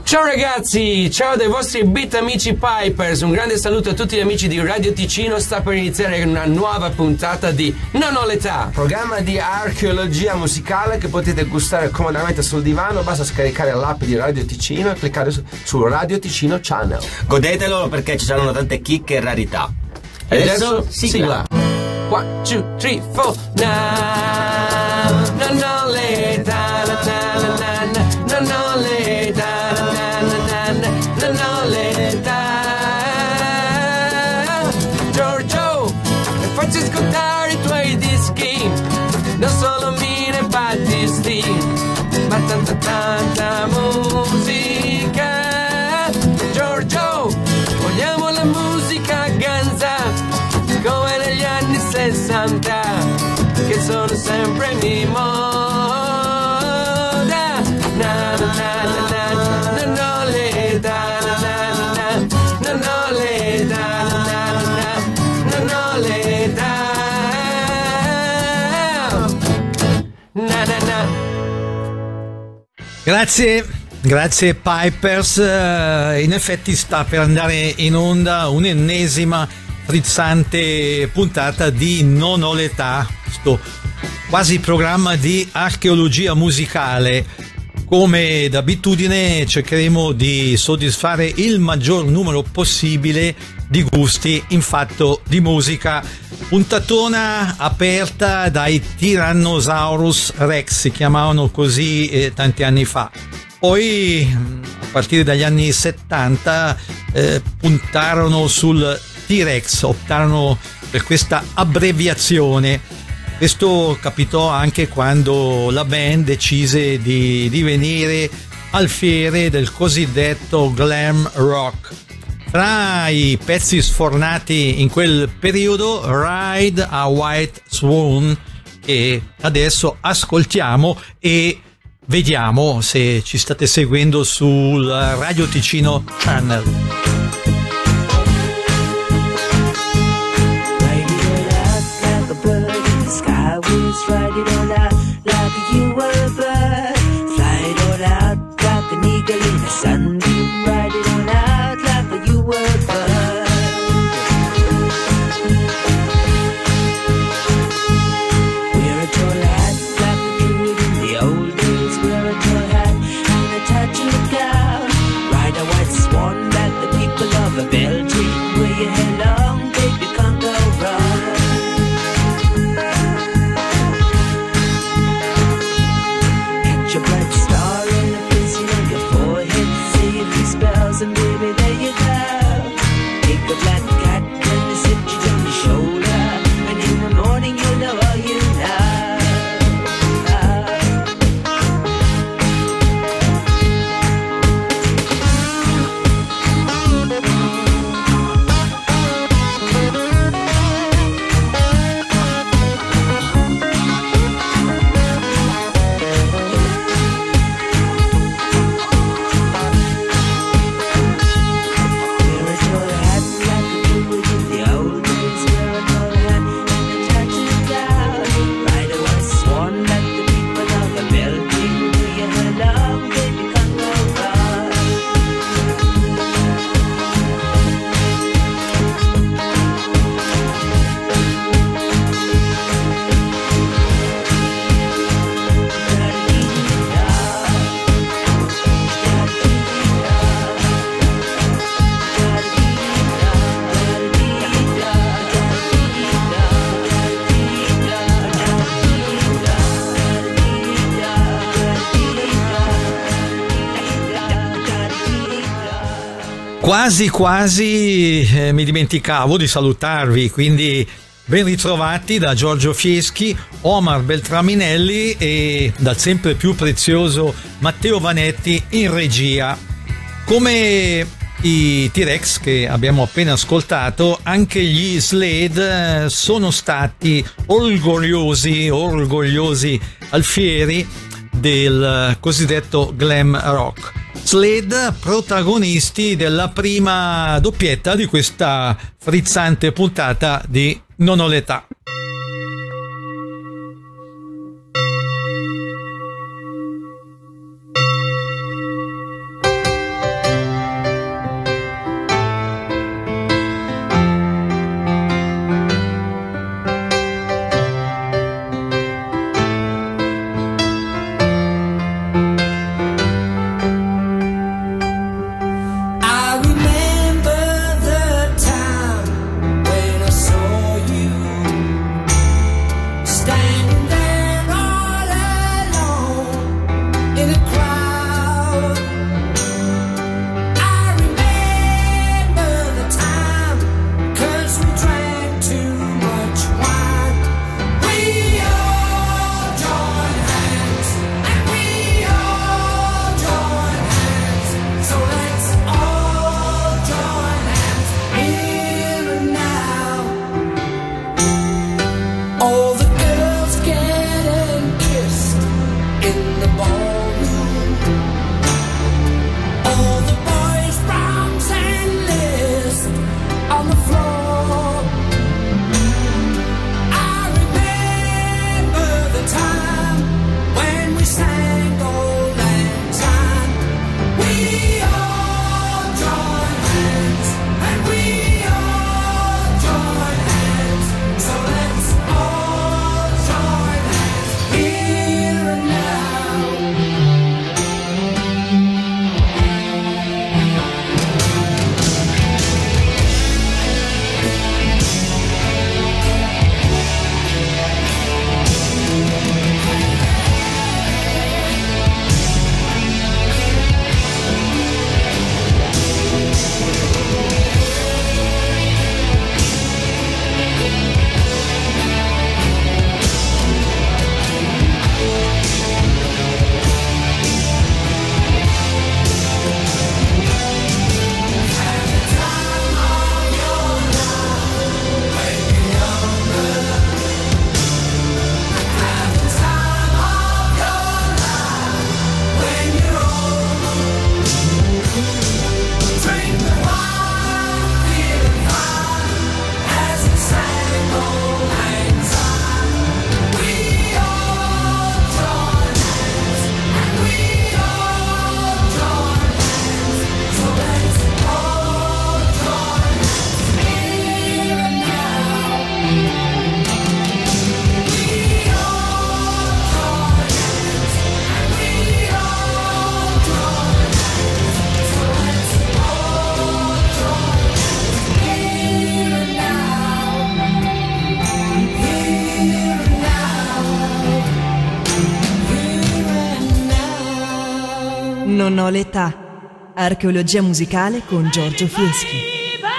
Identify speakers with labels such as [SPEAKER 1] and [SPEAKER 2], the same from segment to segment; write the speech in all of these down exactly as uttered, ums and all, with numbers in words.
[SPEAKER 1] Ciao ragazzi, ciao dai vostri beat amici Pipers, un grande saluto a tutti gli amici di Radio Ticino. Sta per iniziare una nuova puntata di Non ho l'età, programma di archeologia musicale che potete gustare comodamente sul divano. Basta scaricare l'app di Radio Ticino e cliccare su, su Radio Ticino Channel.
[SPEAKER 2] Godetelo perché ci saranno tante chicche e rarità.
[SPEAKER 1] E adesso, adesso sigla. One, two, three, four. Now, non ho l'età, na, na, na, na, na, non ho l'età. Non ho l'età. Giorgio, facci ascoltare i tuoi dischi, non solo Mina e Battisti, ma tanta tanta musica. Giorgio, vogliamo la musica ganza come negli anni sessanta, che sono sempre mi moda. Na na na na na, non ho l'età.
[SPEAKER 3] Grazie, grazie Pipers. In effetti sta per andare in onda un'ennesima frizzante puntata di Non ho l'età, sto quasi programma di archeologia musicale. Come d'abitudine cercheremo di soddisfare il maggior numero possibile di gusti in fatto di musica. Puntatona aperta dai Tyrannosaurus Rex, si chiamavano così eh, tanti anni fa. Poi a partire dagli anni settanta eh, puntarono sul T-Rex, optarono per questa abbreviazione. Questo capitò anche quando la band decise di divenire alfiere del cosiddetto glam rock. Tra i pezzi sfornati in quel periodo, Ride a White Swan, che adesso ascoltiamo e vediamo se ci state seguendo sul Radio Ticino Channel.
[SPEAKER 4] Ride it all out like you were a bird. Fly it all out like an eagle in a sunbeam. Ride it all out like you were a bird. Wear a tall hat like a druid in the old days. Wear a tall hat and a touch of gown. Ride a white swan like the people of a Belgium. Wear your hair long, baby, can't go wrong. Your bright star and a piercing on your forehead, say a few spells and baby there you go. Take a black cat and a sit you on your shoulder, and in the morning you'll know all you know.
[SPEAKER 3] Quasi quasi eh, mi dimenticavo di salutarvi, quindi ben ritrovati da Giorgio Fieschi, Omar Beltraminelli e dal sempre più prezioso Matteo Vanetti in regia. Come i T-Rex che abbiamo appena ascoltato, anche gli Slade sono stati orgogliosi, orgogliosi alfieri del cosiddetto glam rock. Slade protagonisti della prima doppietta di questa frizzante puntata di Non ho l'età.
[SPEAKER 5] Non ho l'età. Archeologia musicale con Giorgio Fieschi.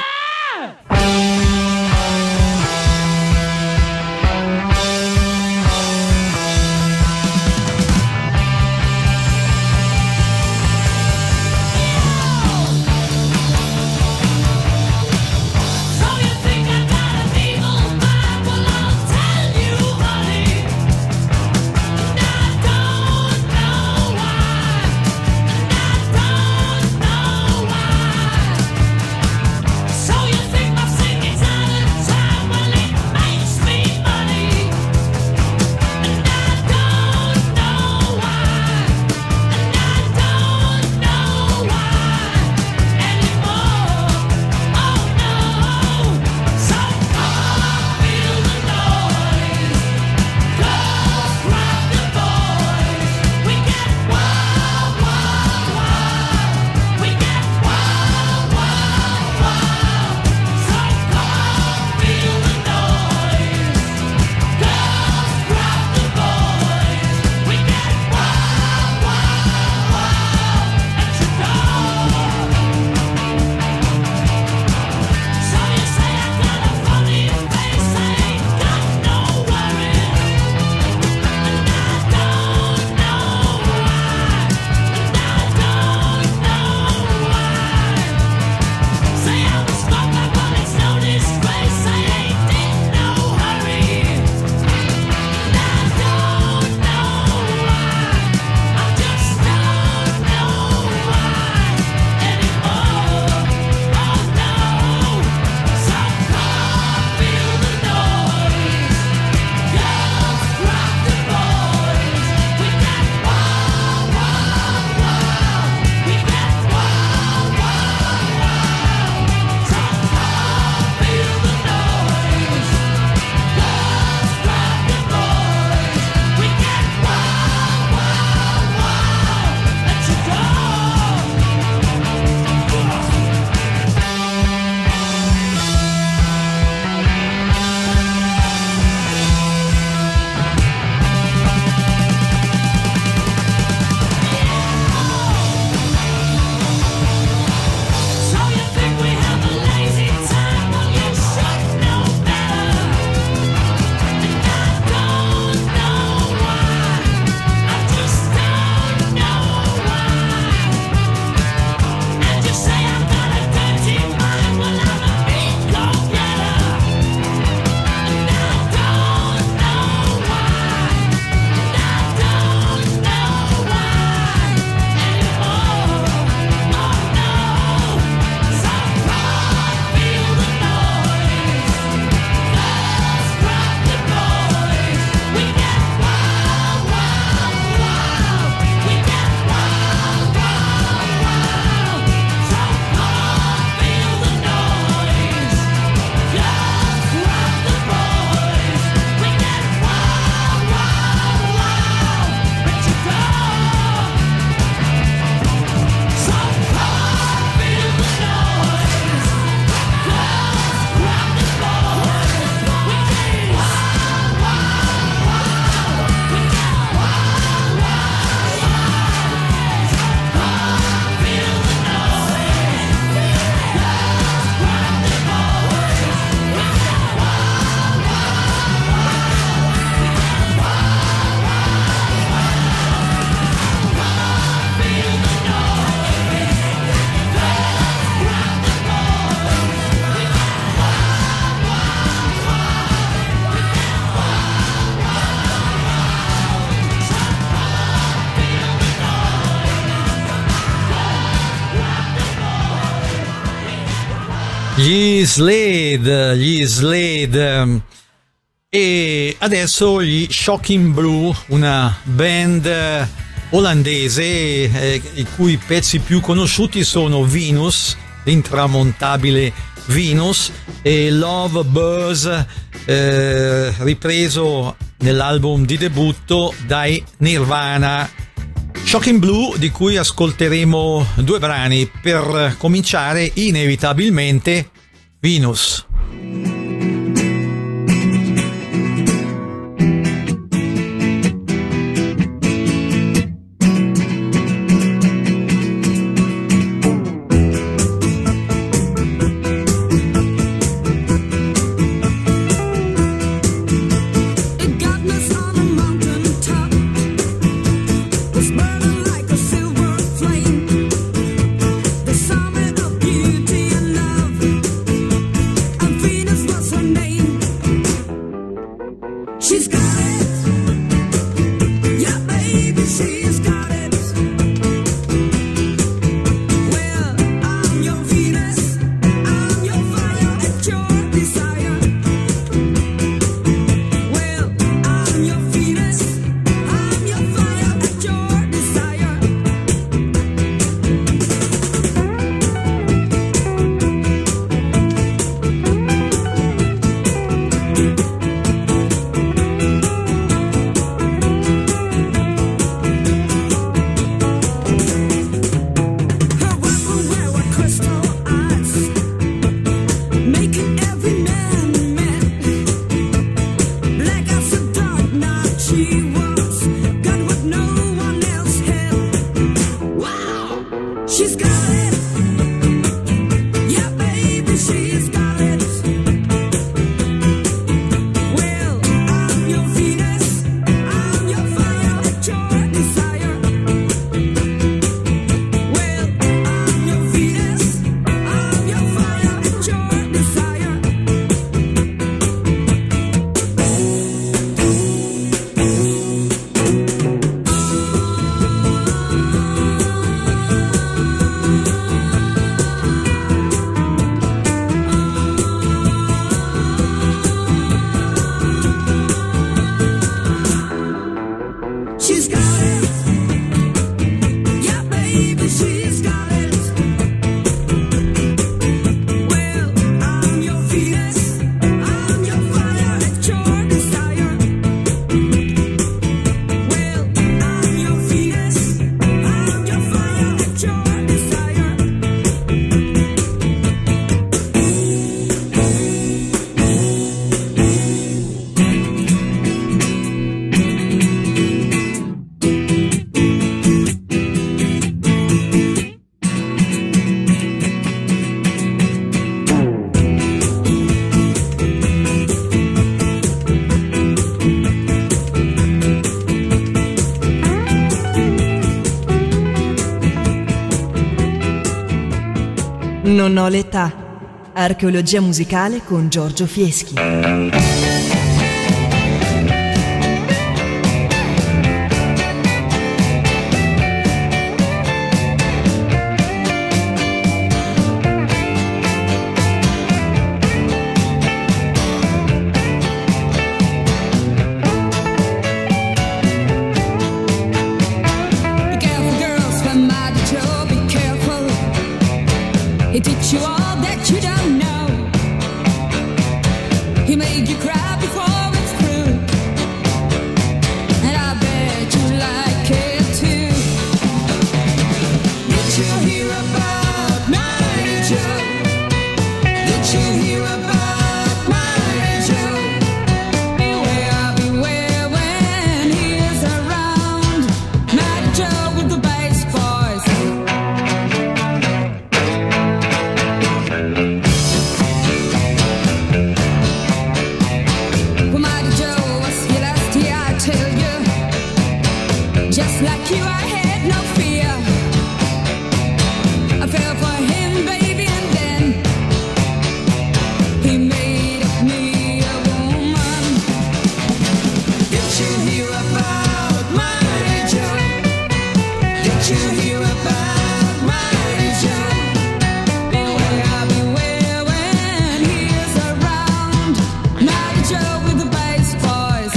[SPEAKER 3] Gli Slade, gli Slade. E adesso gli Shocking Blue, una band olandese eh, i cui pezzi più conosciuti sono Venus, l'intramontabile Venus, e Love Buzz, eh, ripreso nell'album di debutto dai Nirvana. Shocking Blue, di cui ascolteremo due brani, per cominciare inevitabilmente Venus.
[SPEAKER 5] Non ho l'età. Archeologia musicale con Giorgio Fieschi.
[SPEAKER 6] He teach you all that you don't know. He made you cry before it's through. And I bet you like it too. Did you hear about Mighty Joe? Did you hear about Mighty Joe? Beware, beware when he is around. Mighty Joe with the bass voice. Just like you, I had no fear. I fell for him, baby, and then he made of me a woman. Did you hear about Mighty Joe? Did you hear about Mighty Joe? Beware, beware when he is around. Mighty Joe with the bass voice.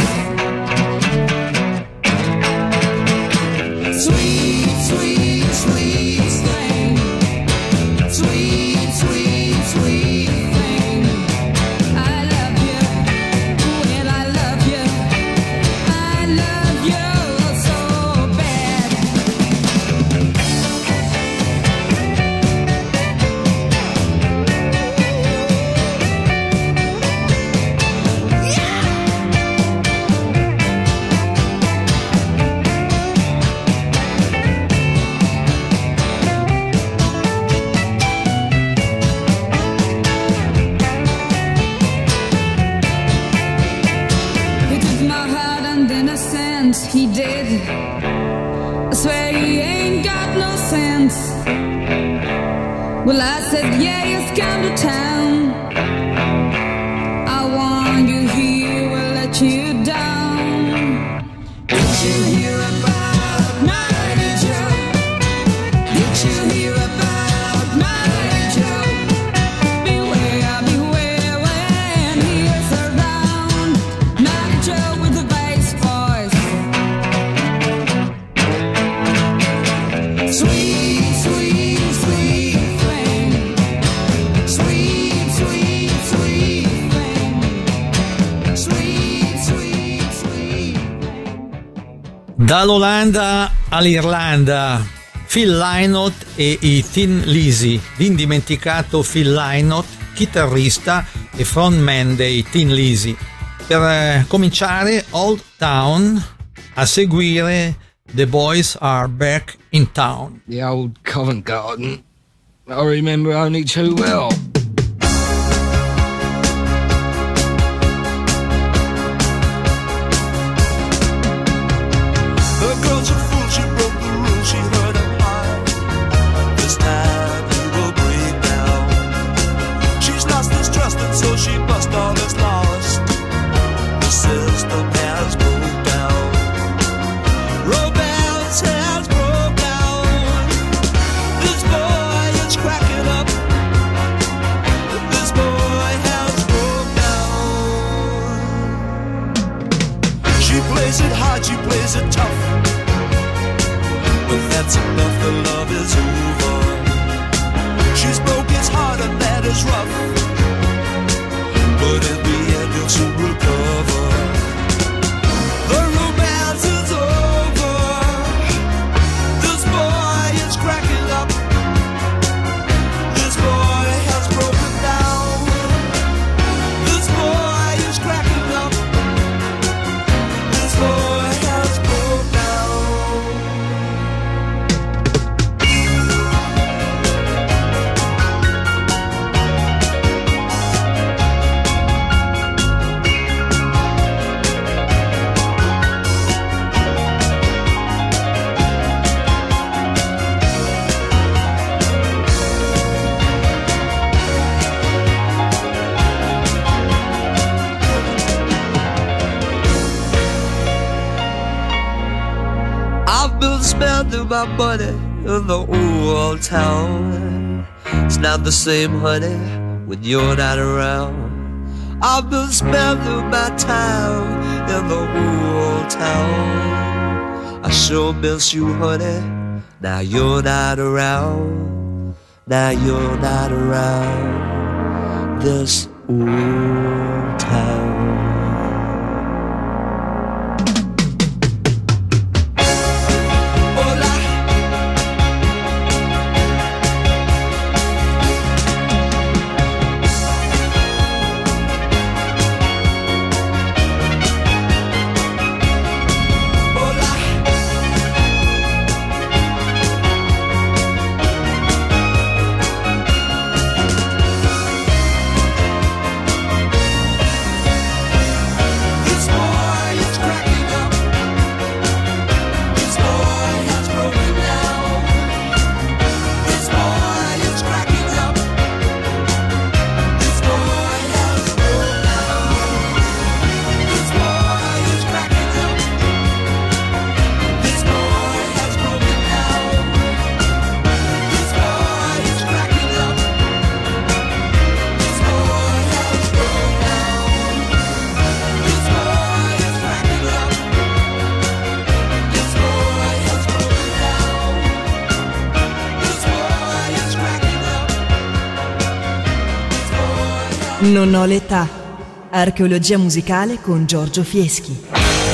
[SPEAKER 6] Sweet, sweet, sweet thing. Sweet, sweet, sweet thing. I love you. Well, I love you. I love you so bad. He took my heart and innocence, he did. I swear he ain't got no sense. Well, I said, yeah, he's come to town. I want you here, we'll let you down. Did you hear about Mighty Joe? Did you hear about Mighty Joe? Beware, beware when he is around. Mighty Joe with the bass voice. Sweet, sweet, sweet thing. Sweet, sweet, sweet thing. Sweet, sweet, sweet thing.
[SPEAKER 3] Dall'Olanda all'Irlanda, Phil Lynott e i Thin Lizzy, l'indimenticato Phil Lynott, chitarrista e frontman dei Thin Lizzy. Per eh, cominciare Old Town, a seguire The Boys Are Back in Town.
[SPEAKER 7] The old Covent Garden, I remember only too well.
[SPEAKER 8] The girl's a fool, she broke the rules, she heard a lie. This time you will break down. She's lost this trust and so she bust all is lost. The system has broke down. Romance has broke down. This boy is cracking up. This boy has broke down. She plays it hard, she plays it tough. But that's enough, the love is over. She's broke his heart and that is rough. But in the end he'll soon recover. The romance is over. This boy is cracking up. This boy has broken down. This boy is cracking up. This boy has broken down. spending my money in the old town. It's not the same, honey, when you're not around. I've been spending my time in the old town. I sure miss you, honey. Now you're not around. Now you're not around this old town.
[SPEAKER 5] Non ho l'età. Archeologia musicale con Giorgio Fieschi.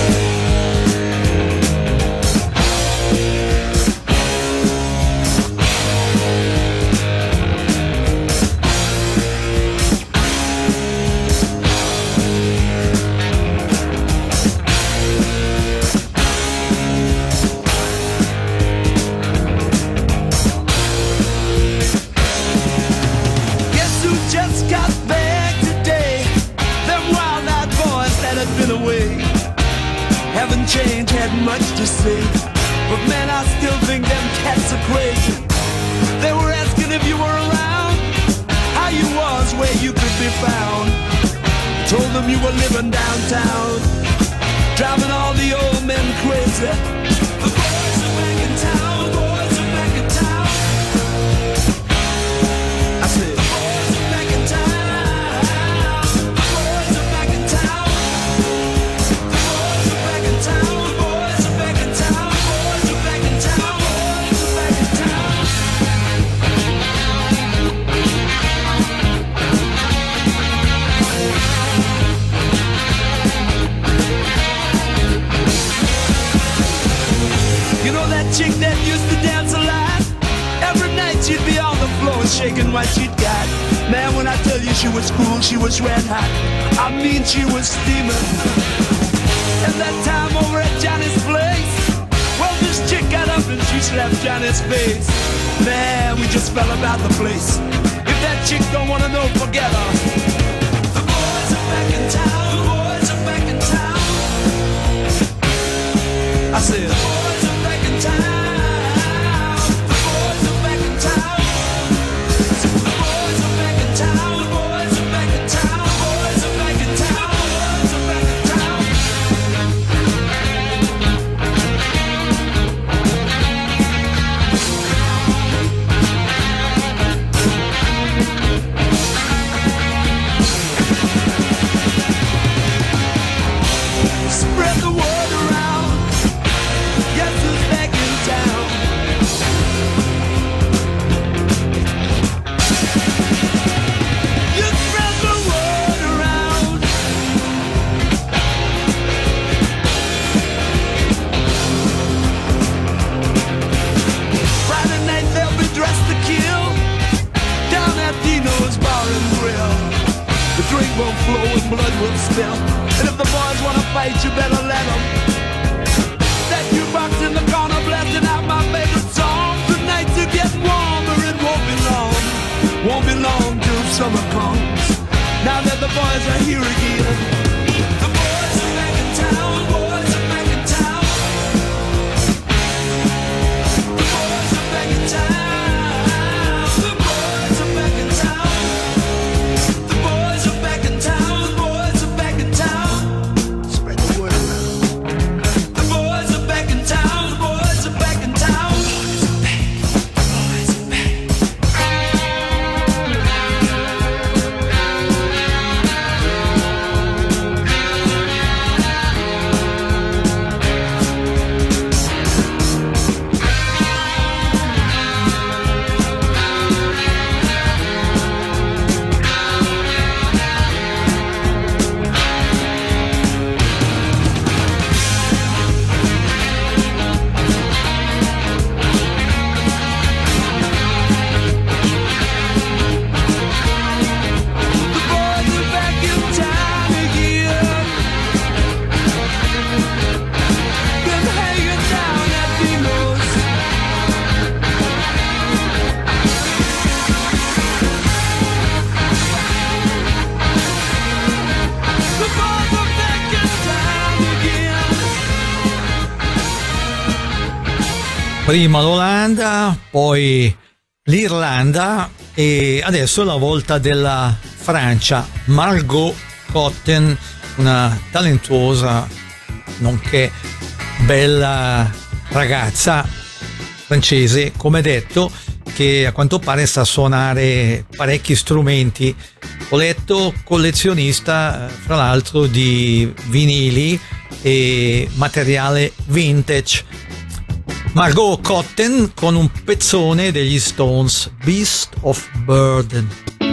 [SPEAKER 8] Shaking what she'd got. Man, when I tell you she was cool, she was red hot. I mean, she was steaming. And that time over at Johnny's place, well, this chick got up and she slapped Johnny's face. Man, we just fell about the place. If that chick don't wanna know, forget her. The boys are back in town. The boys are back in town. I said, the boys are back in town. Blood will spill. And if the boys wanna fight, you better let them. That jukebox in the corner blasting out my favorite song. The nights are getting warmer, it won't be long. Won't be long till summer comes. Now that the boys are here again. The boys are back in town. The boys are back in town. The boys are back in town. The boys are back in town. The boys are back in town. Spread the word around. The boys are back in town. The boys are back in town.
[SPEAKER 3] Prima l'Olanda, poi l'Irlanda e adesso la volta della Francia. Margot Cotten, una talentuosa nonché bella ragazza francese, come detto, che a quanto pare sa suonare parecchi strumenti. Ho letto collezionista, fra l'altro, di vinili e materiale vintage. Margot Cotten con un pezzone degli Stones, Beast of Burden.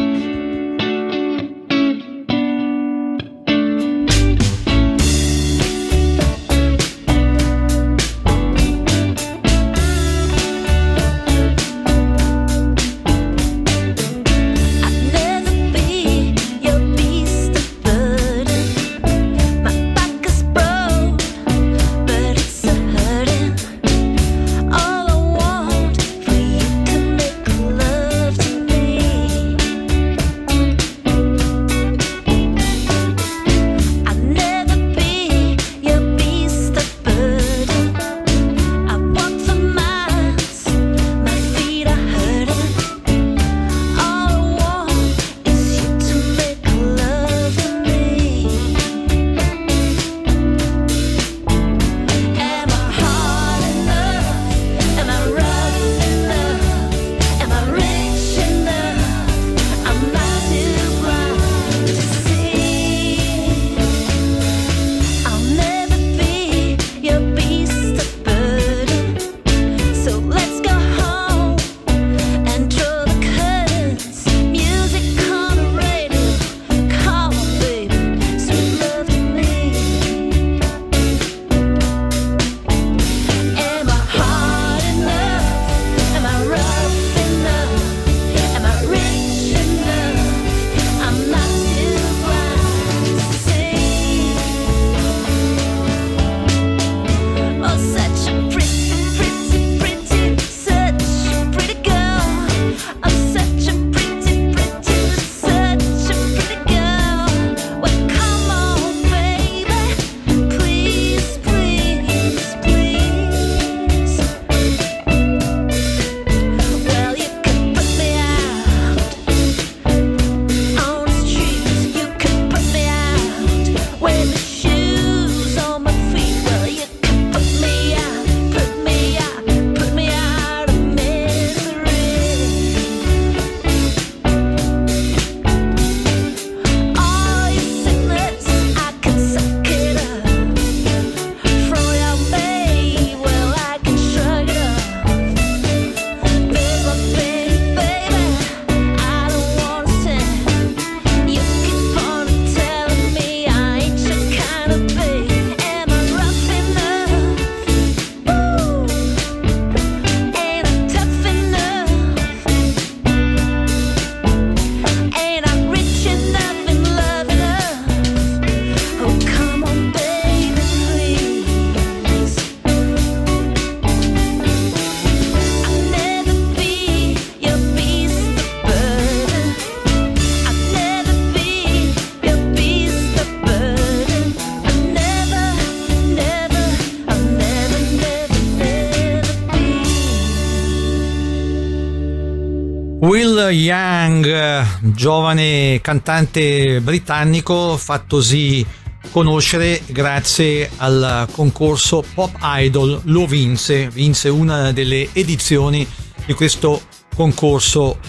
[SPEAKER 3] Will Young, giovane cantante britannico fattosi conoscere grazie al concorso Pop Idol, lo vinse, vinse una delle edizioni di questo concorso.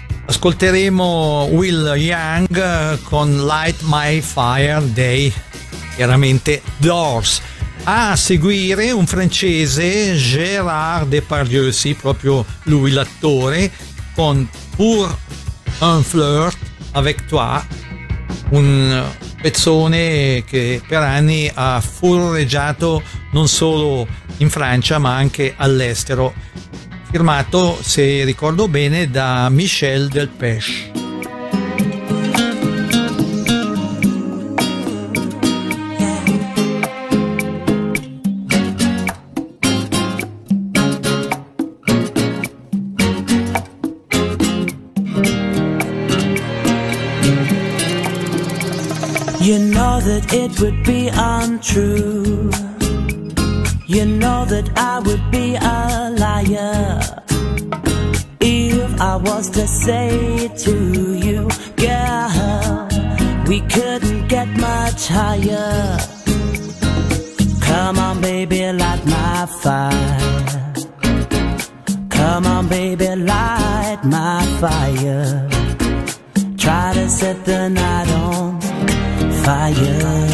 [SPEAKER 3] Ascolteremo Will Young con Light My Fire Day, chiaramente Doors. A seguire un francese, Gérard Depardieu, sì, proprio lui l'attore, con Pour un flirt avec toi, un pezzone che per anni ha furreggiato non solo in Francia ma anche all'estero, firmato, se ricordo bene, da Michel Delpech.
[SPEAKER 9] You know that it would be untrue
[SPEAKER 4] You know that I would be a liar if I was to say to you, girl, we couldn't get much higher. Come on, baby, light my fire. Come on, baby, light my fire. Try to set the night on fire.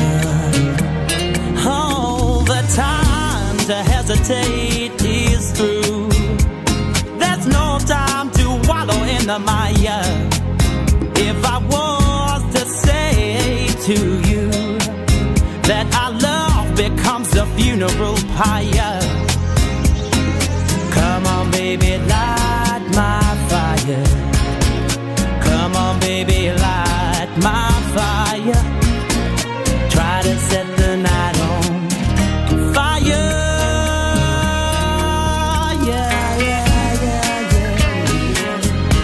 [SPEAKER 4] Oh, the time to hesitate is through. There's no time to wallow in the mire. If I was to say to you that our love becomes a funeral pyre, come on, baby, light my fire. Come on, baby, light my fire. Try to set the night on fire. Yeah, yeah, yeah, yeah.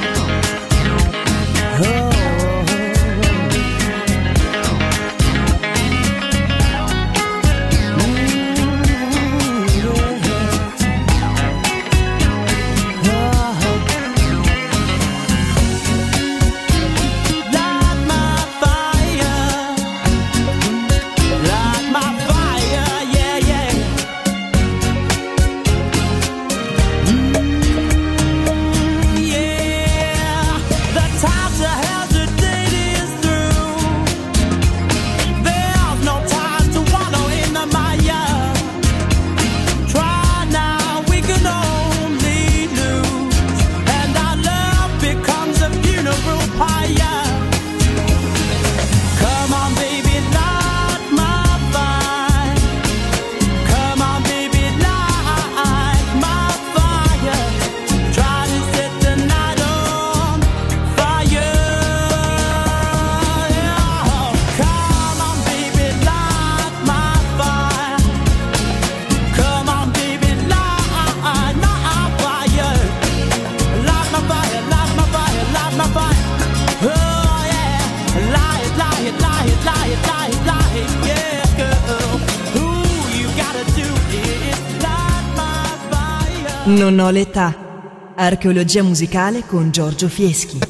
[SPEAKER 4] Oh.
[SPEAKER 5] Non ho l'età. Archeologia musicale con Giorgio Fieschi.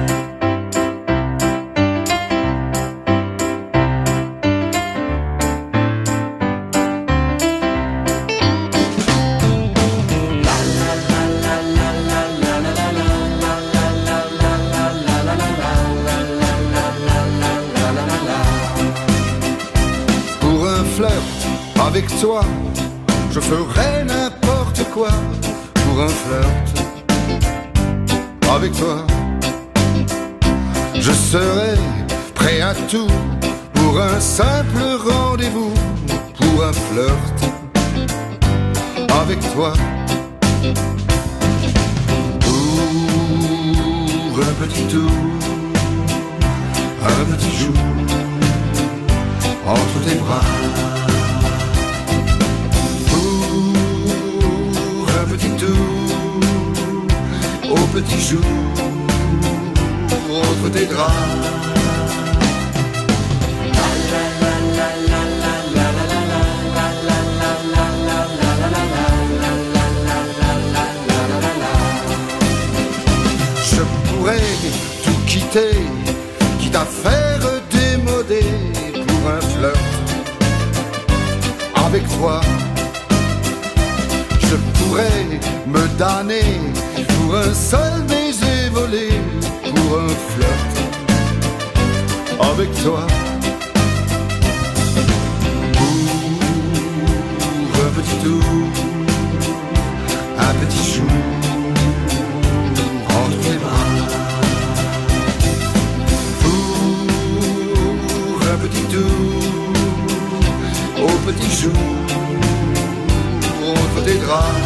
[SPEAKER 9] Pour un flirt avec toi, je ferai n'importe quoi. Pour un flirt avec toi, je serai prêt à tout. Pour un simple rendez-vous, pour un flirt avec toi. Pour un petit tour, un petit jour entre tes bras. Au petit jour, entre tes draps. Je pourrais tout quitter, quitte à faire démoder pour un flirt avec toi. Je pourrais me damner pour un seul baiser volé, pour un flirt avec toi. Pour un petit tour, un petit jour entre tes bras. Pour un petit tour, au petit jour entre tes draps.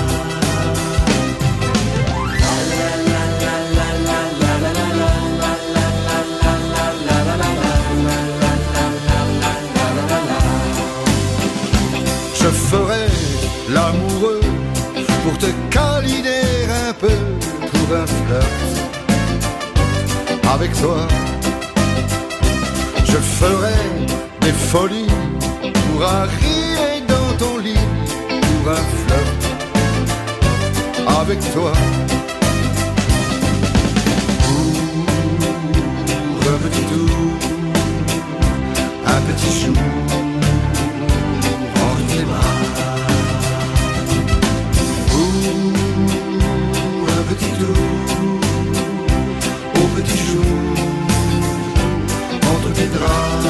[SPEAKER 9] Je ferai l'amoureux pour te câliner un peu, pour un flirt avec toi. Je ferai des folies pour arriver dans ton lit, pour pour un flirt avec toi. Pour un petit tour, un petit chou entre tes bras. Pour un petit tour, au petit chou entre tes draps.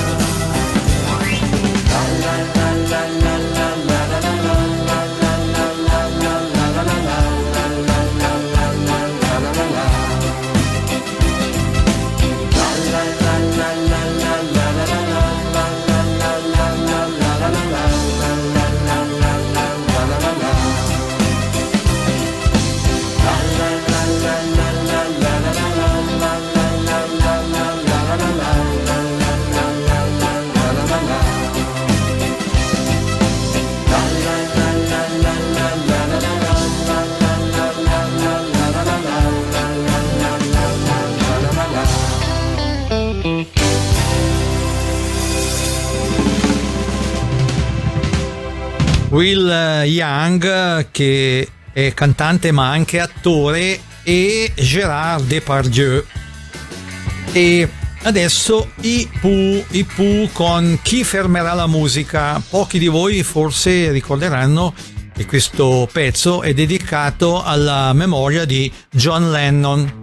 [SPEAKER 3] Will Young, che è cantante ma anche attore, e Gérard Depardieu. E adesso i Pooh, i Pooh con Chi fermerà la musica. Pochi di voi forse ricorderanno che questo pezzo è dedicato alla memoria di John Lennon.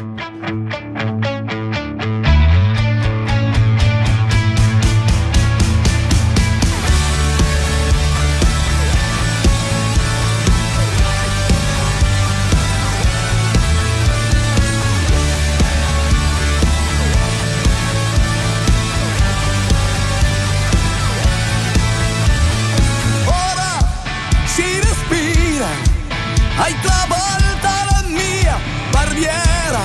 [SPEAKER 8] Hai travolto la mia barriera,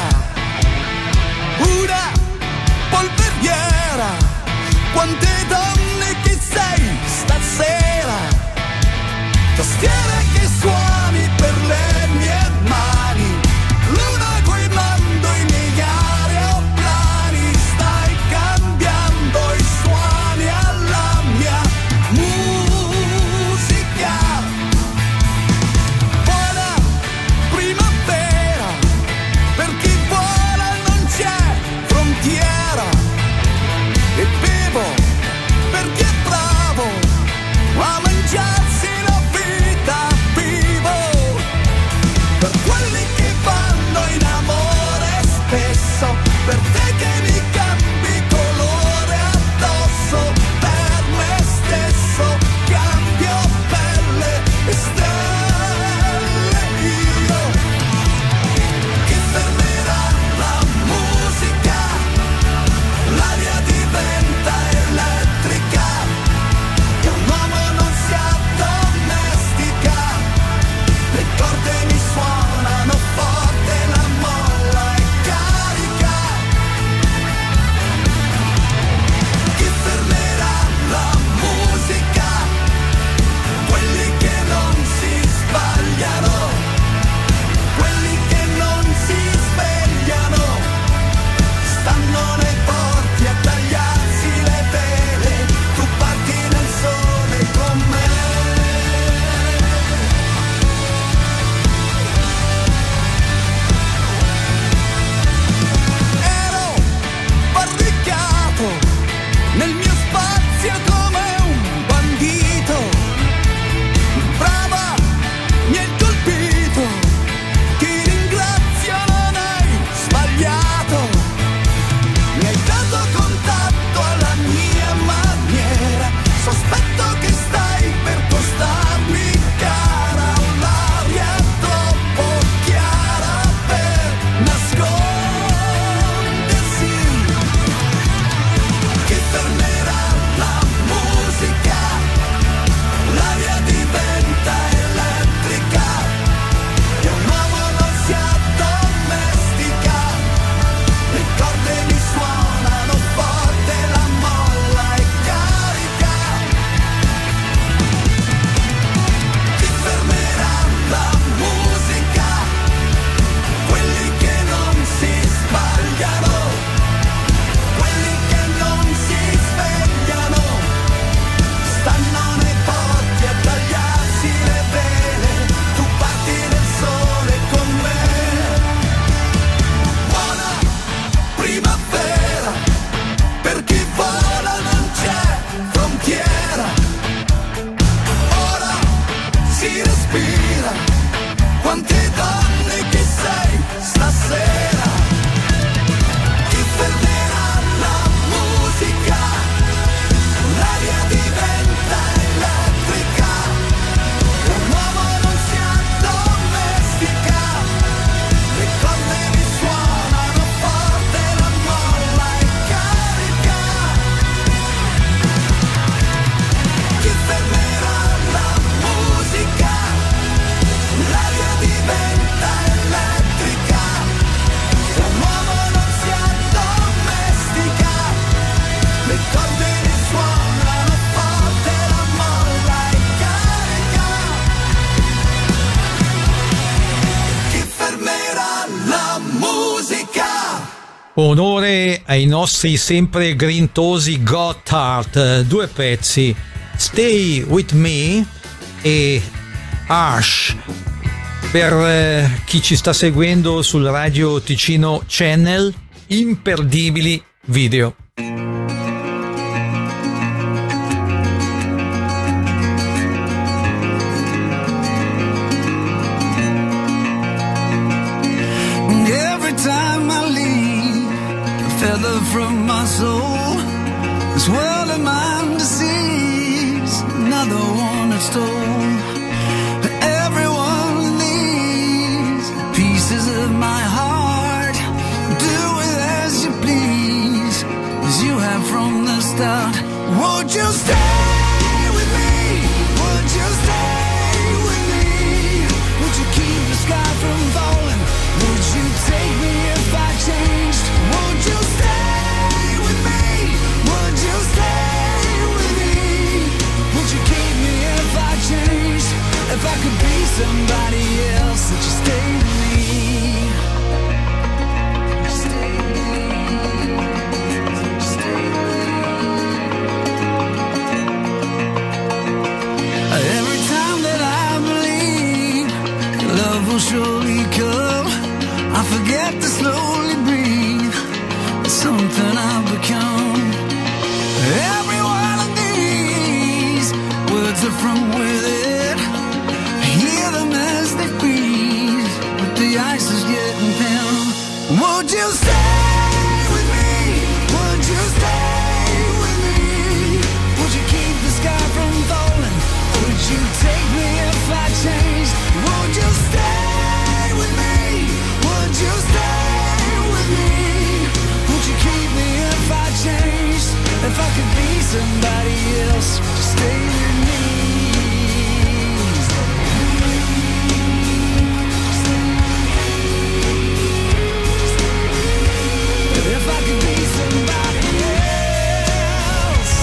[SPEAKER 8] una polveriera. Quante donne che sei stasera, tastiere che suoni per le mie mani, luna guidando i miei aeroplani. Stai cambiando i suoni alla mia musica. E bevo perché è bravo a mangiarsi la vita vivo. Per quelli che vanno in amore spesso, per te che mi cambi colore addosso, per me stesso cambio pelle e stelle io. Che fermerà la musica, l'aria diventa elettrica e un uomo non si addomestica. Le corde mi suonano forte, la molla è carica. Chi fermerà la musica? Quelli che non si sbagliano, quelli che non si svegliano, stanno nei porti a tagliarsi le vele. Tu parti nel sole con me. Ero barricato nel mio spazio come un bandito. Brava, mi hai colpito, ti ringrazio, non hai sbagliato. Mi hai dato contatto alla mia maniera, sospetto che stai per costarmi cara, un'aria troppo chiara per nascondersi. Che fermerà
[SPEAKER 3] Onore ai nostri sempre grintosi Gotthard, due pezzi, Stay With Me e Harsh. Per eh, chi ci sta seguendo sul Radio Ticino Channel, imperdibili video.
[SPEAKER 8] Feather from my soul, this world of mine deceives, another one that stole every one of these pieces of my heart. Do it as you please, as you have from the start. Won't you stay with me? Would you stay with me? Would you keep the sky from falling? Would you take me if I changed? Would you stay with me? Would you stay with me? Would you keep me if I changed? If I could be somebody else, would you stay with me? Stay with me. Stay with me. Every time that I believe love will surely come, I forget to slowly breathe. It's something I've become. Every one of these words are from within. Hear them as they breathe, but the ice is getting thin. Would you stay with me? Would you stay with me? Would you keep the sky from falling? Would you take me if I changed? Would you stay with me? Would you stay with me? Would you keep me if I changed? If I could be somebody else, would you stay with me? If I could be somebody else.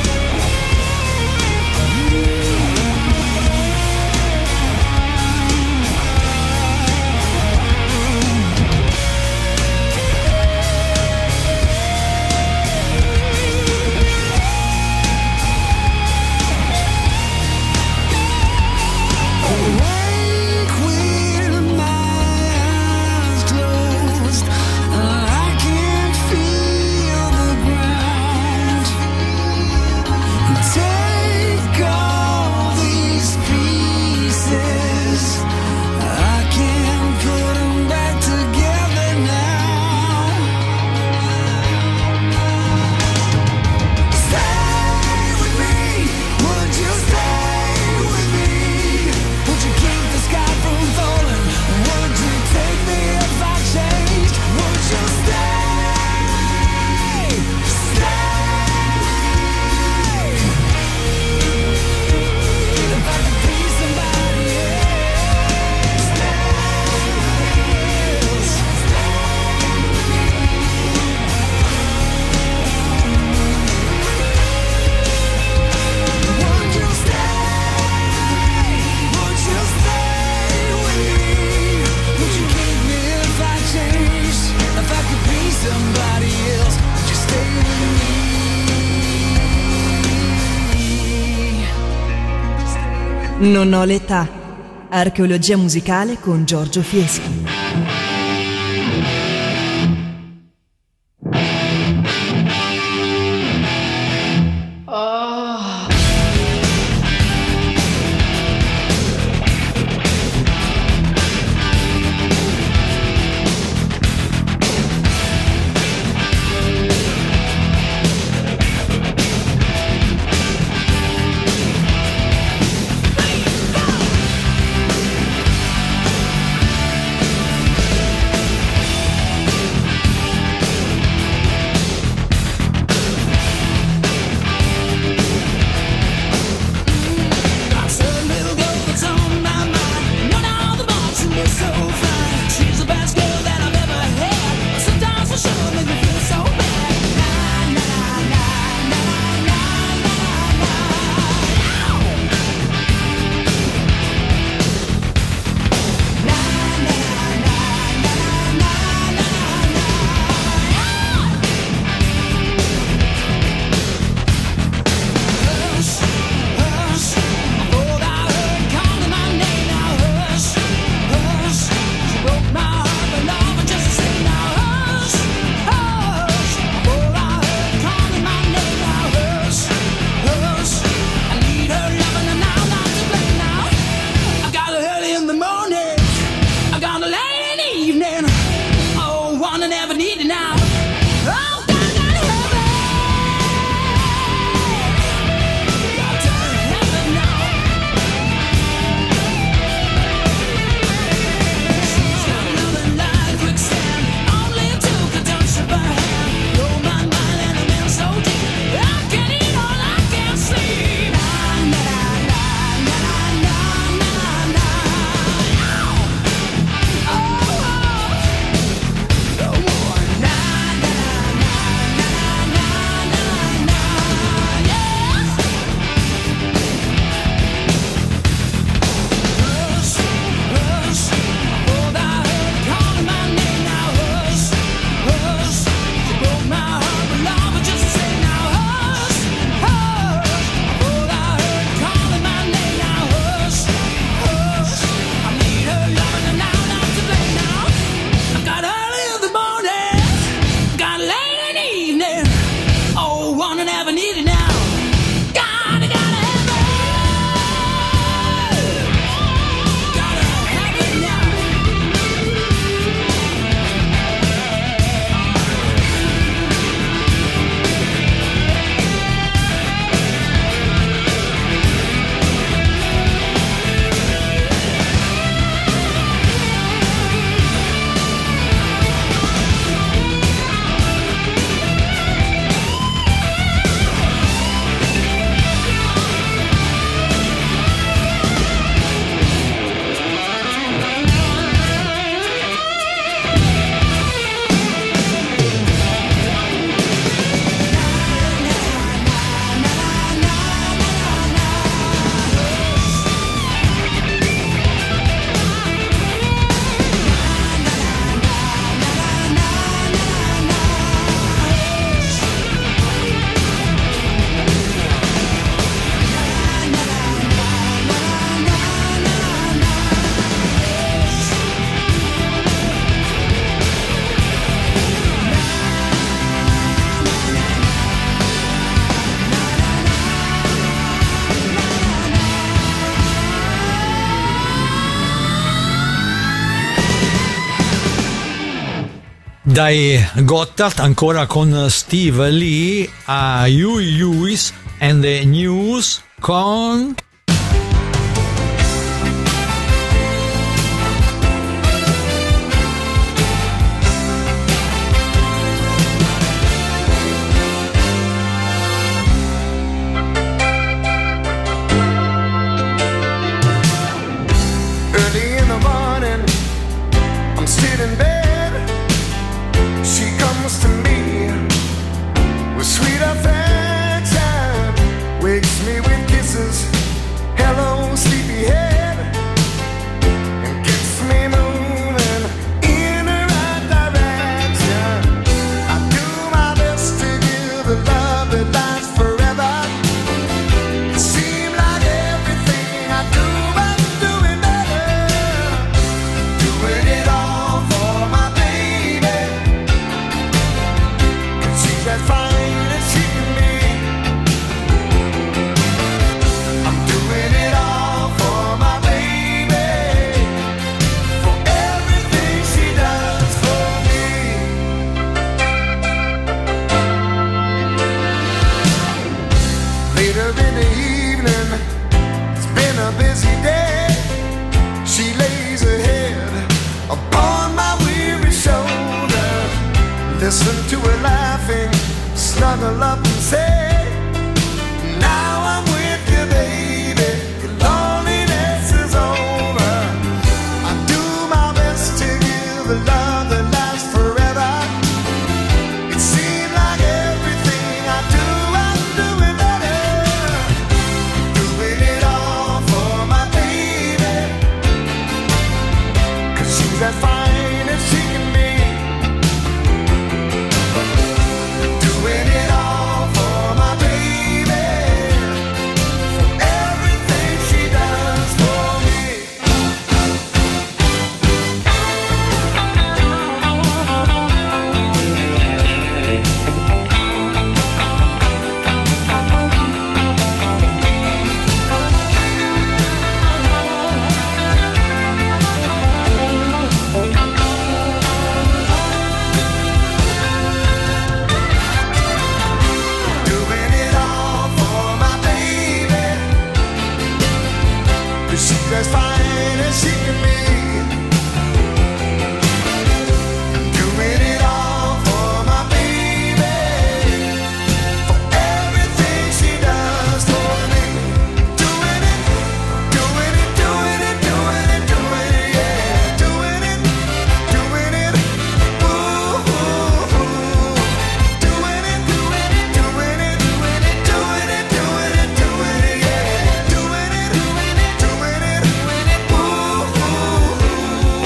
[SPEAKER 5] Non ho l'età. Archeologia musicale con Giorgio Fieschi.
[SPEAKER 8] Hey!
[SPEAKER 3] Dai Gotthard, ancora con Steve Lee, a Huey Lewis and the News con
[SPEAKER 8] Early in the morning, I'm still in bed. She comes to me with sweet affection, wakes me with kisses, hello sleepyhead, and gets me moving in the right direction. I do my best to give a love that lasts forever. It seems like everything I do, I'm doing better, doing it all for my baby. She's as fine as she can be. I'm doing it all for my baby, for everything she does for me. Later in the evening, it's been a busy day. She lays her head upon my weary shoulder. Listen to her laughing, snuggle up and say, now I'm with you, baby. Your loneliness is over. I do my best to give a love that lasts forever. It seems like everything I do, I'm doing better, doing it all for my baby. 'Cause she's as fine as she can be. Doing it all for my baby, for everything she does for me. Doing it all for my baby, 'cause she's as fine as she can be. Doing it all for my baby, for everything she does for me. Doing it, doing it, doing it, doing it, doing it, yeah. Doing it, doing it, ooh, ooh, ooh. Doing it, doing it, doing it, doing it, doing it, doing it, doing it, yeah. Doing it, doing it, doing it, ooh, ooh, ooh.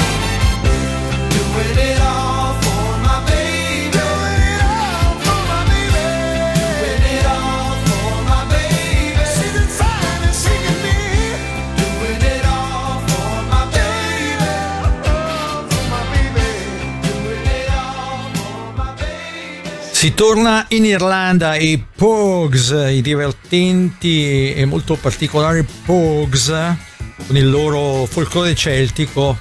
[SPEAKER 8] Doing it all for my baby. Doing it all for my baby. Doing it all for my baby. She's as fine as she can be. Doing it all for my baby. Oh, for my baby. Doing it all for my baby.
[SPEAKER 3] Si torna in Irlanda e i Pogues, i divertenti e molto particolari Pogues, con il loro folklore celtico.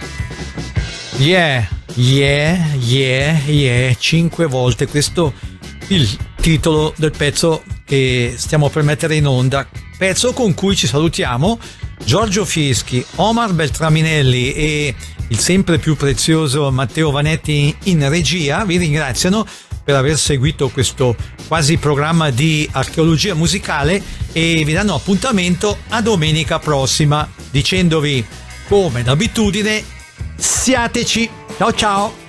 [SPEAKER 3] Yeah, yeah, yeah, yeah, cinque volte. Questo è il titolo del pezzo che stiamo per mettere in onda. Pezzo con cui ci salutiamo. Giorgio Fieschi, Omar Beltraminelli e il sempre più prezioso Matteo Vanetti in regia vi ringraziano per aver seguito questo quasi programma di archeologia musicale e vi danno appuntamento a domenica prossima dicendovi, come d'abitudine, siateci. Ciao ciao.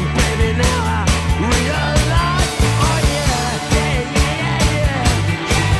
[SPEAKER 8] Realize, oh yeah, yeah, yeah, yeah, yeah.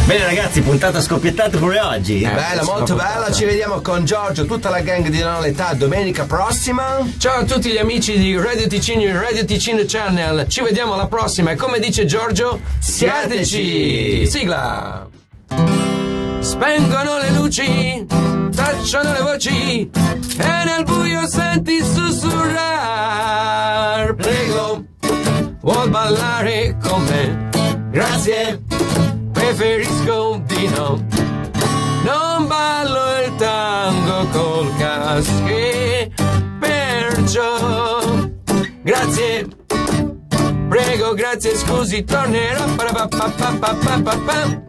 [SPEAKER 2] Bene ragazzi, puntata scoppiettata pure oggi.
[SPEAKER 1] Eh, bella, molto bella. Ci vediamo con Giorgio, tutta la gang di Non ho l'età domenica prossima. Ciao a tutti gli amici di Radio Ticino e Radio Ticino Channel. Ci vediamo alla prossima e come dice Giorgio, siateci. Sigla. Spengono le luci, tacciono le voci e nel buio senti sussurrar. Prego, vuol ballare con me? Grazie, preferisco di no. Non ballo il tango col casche, perciò grazie, prego, grazie, scusi, tornerò. Pa, pa, pa, pa, pa, pa, pa.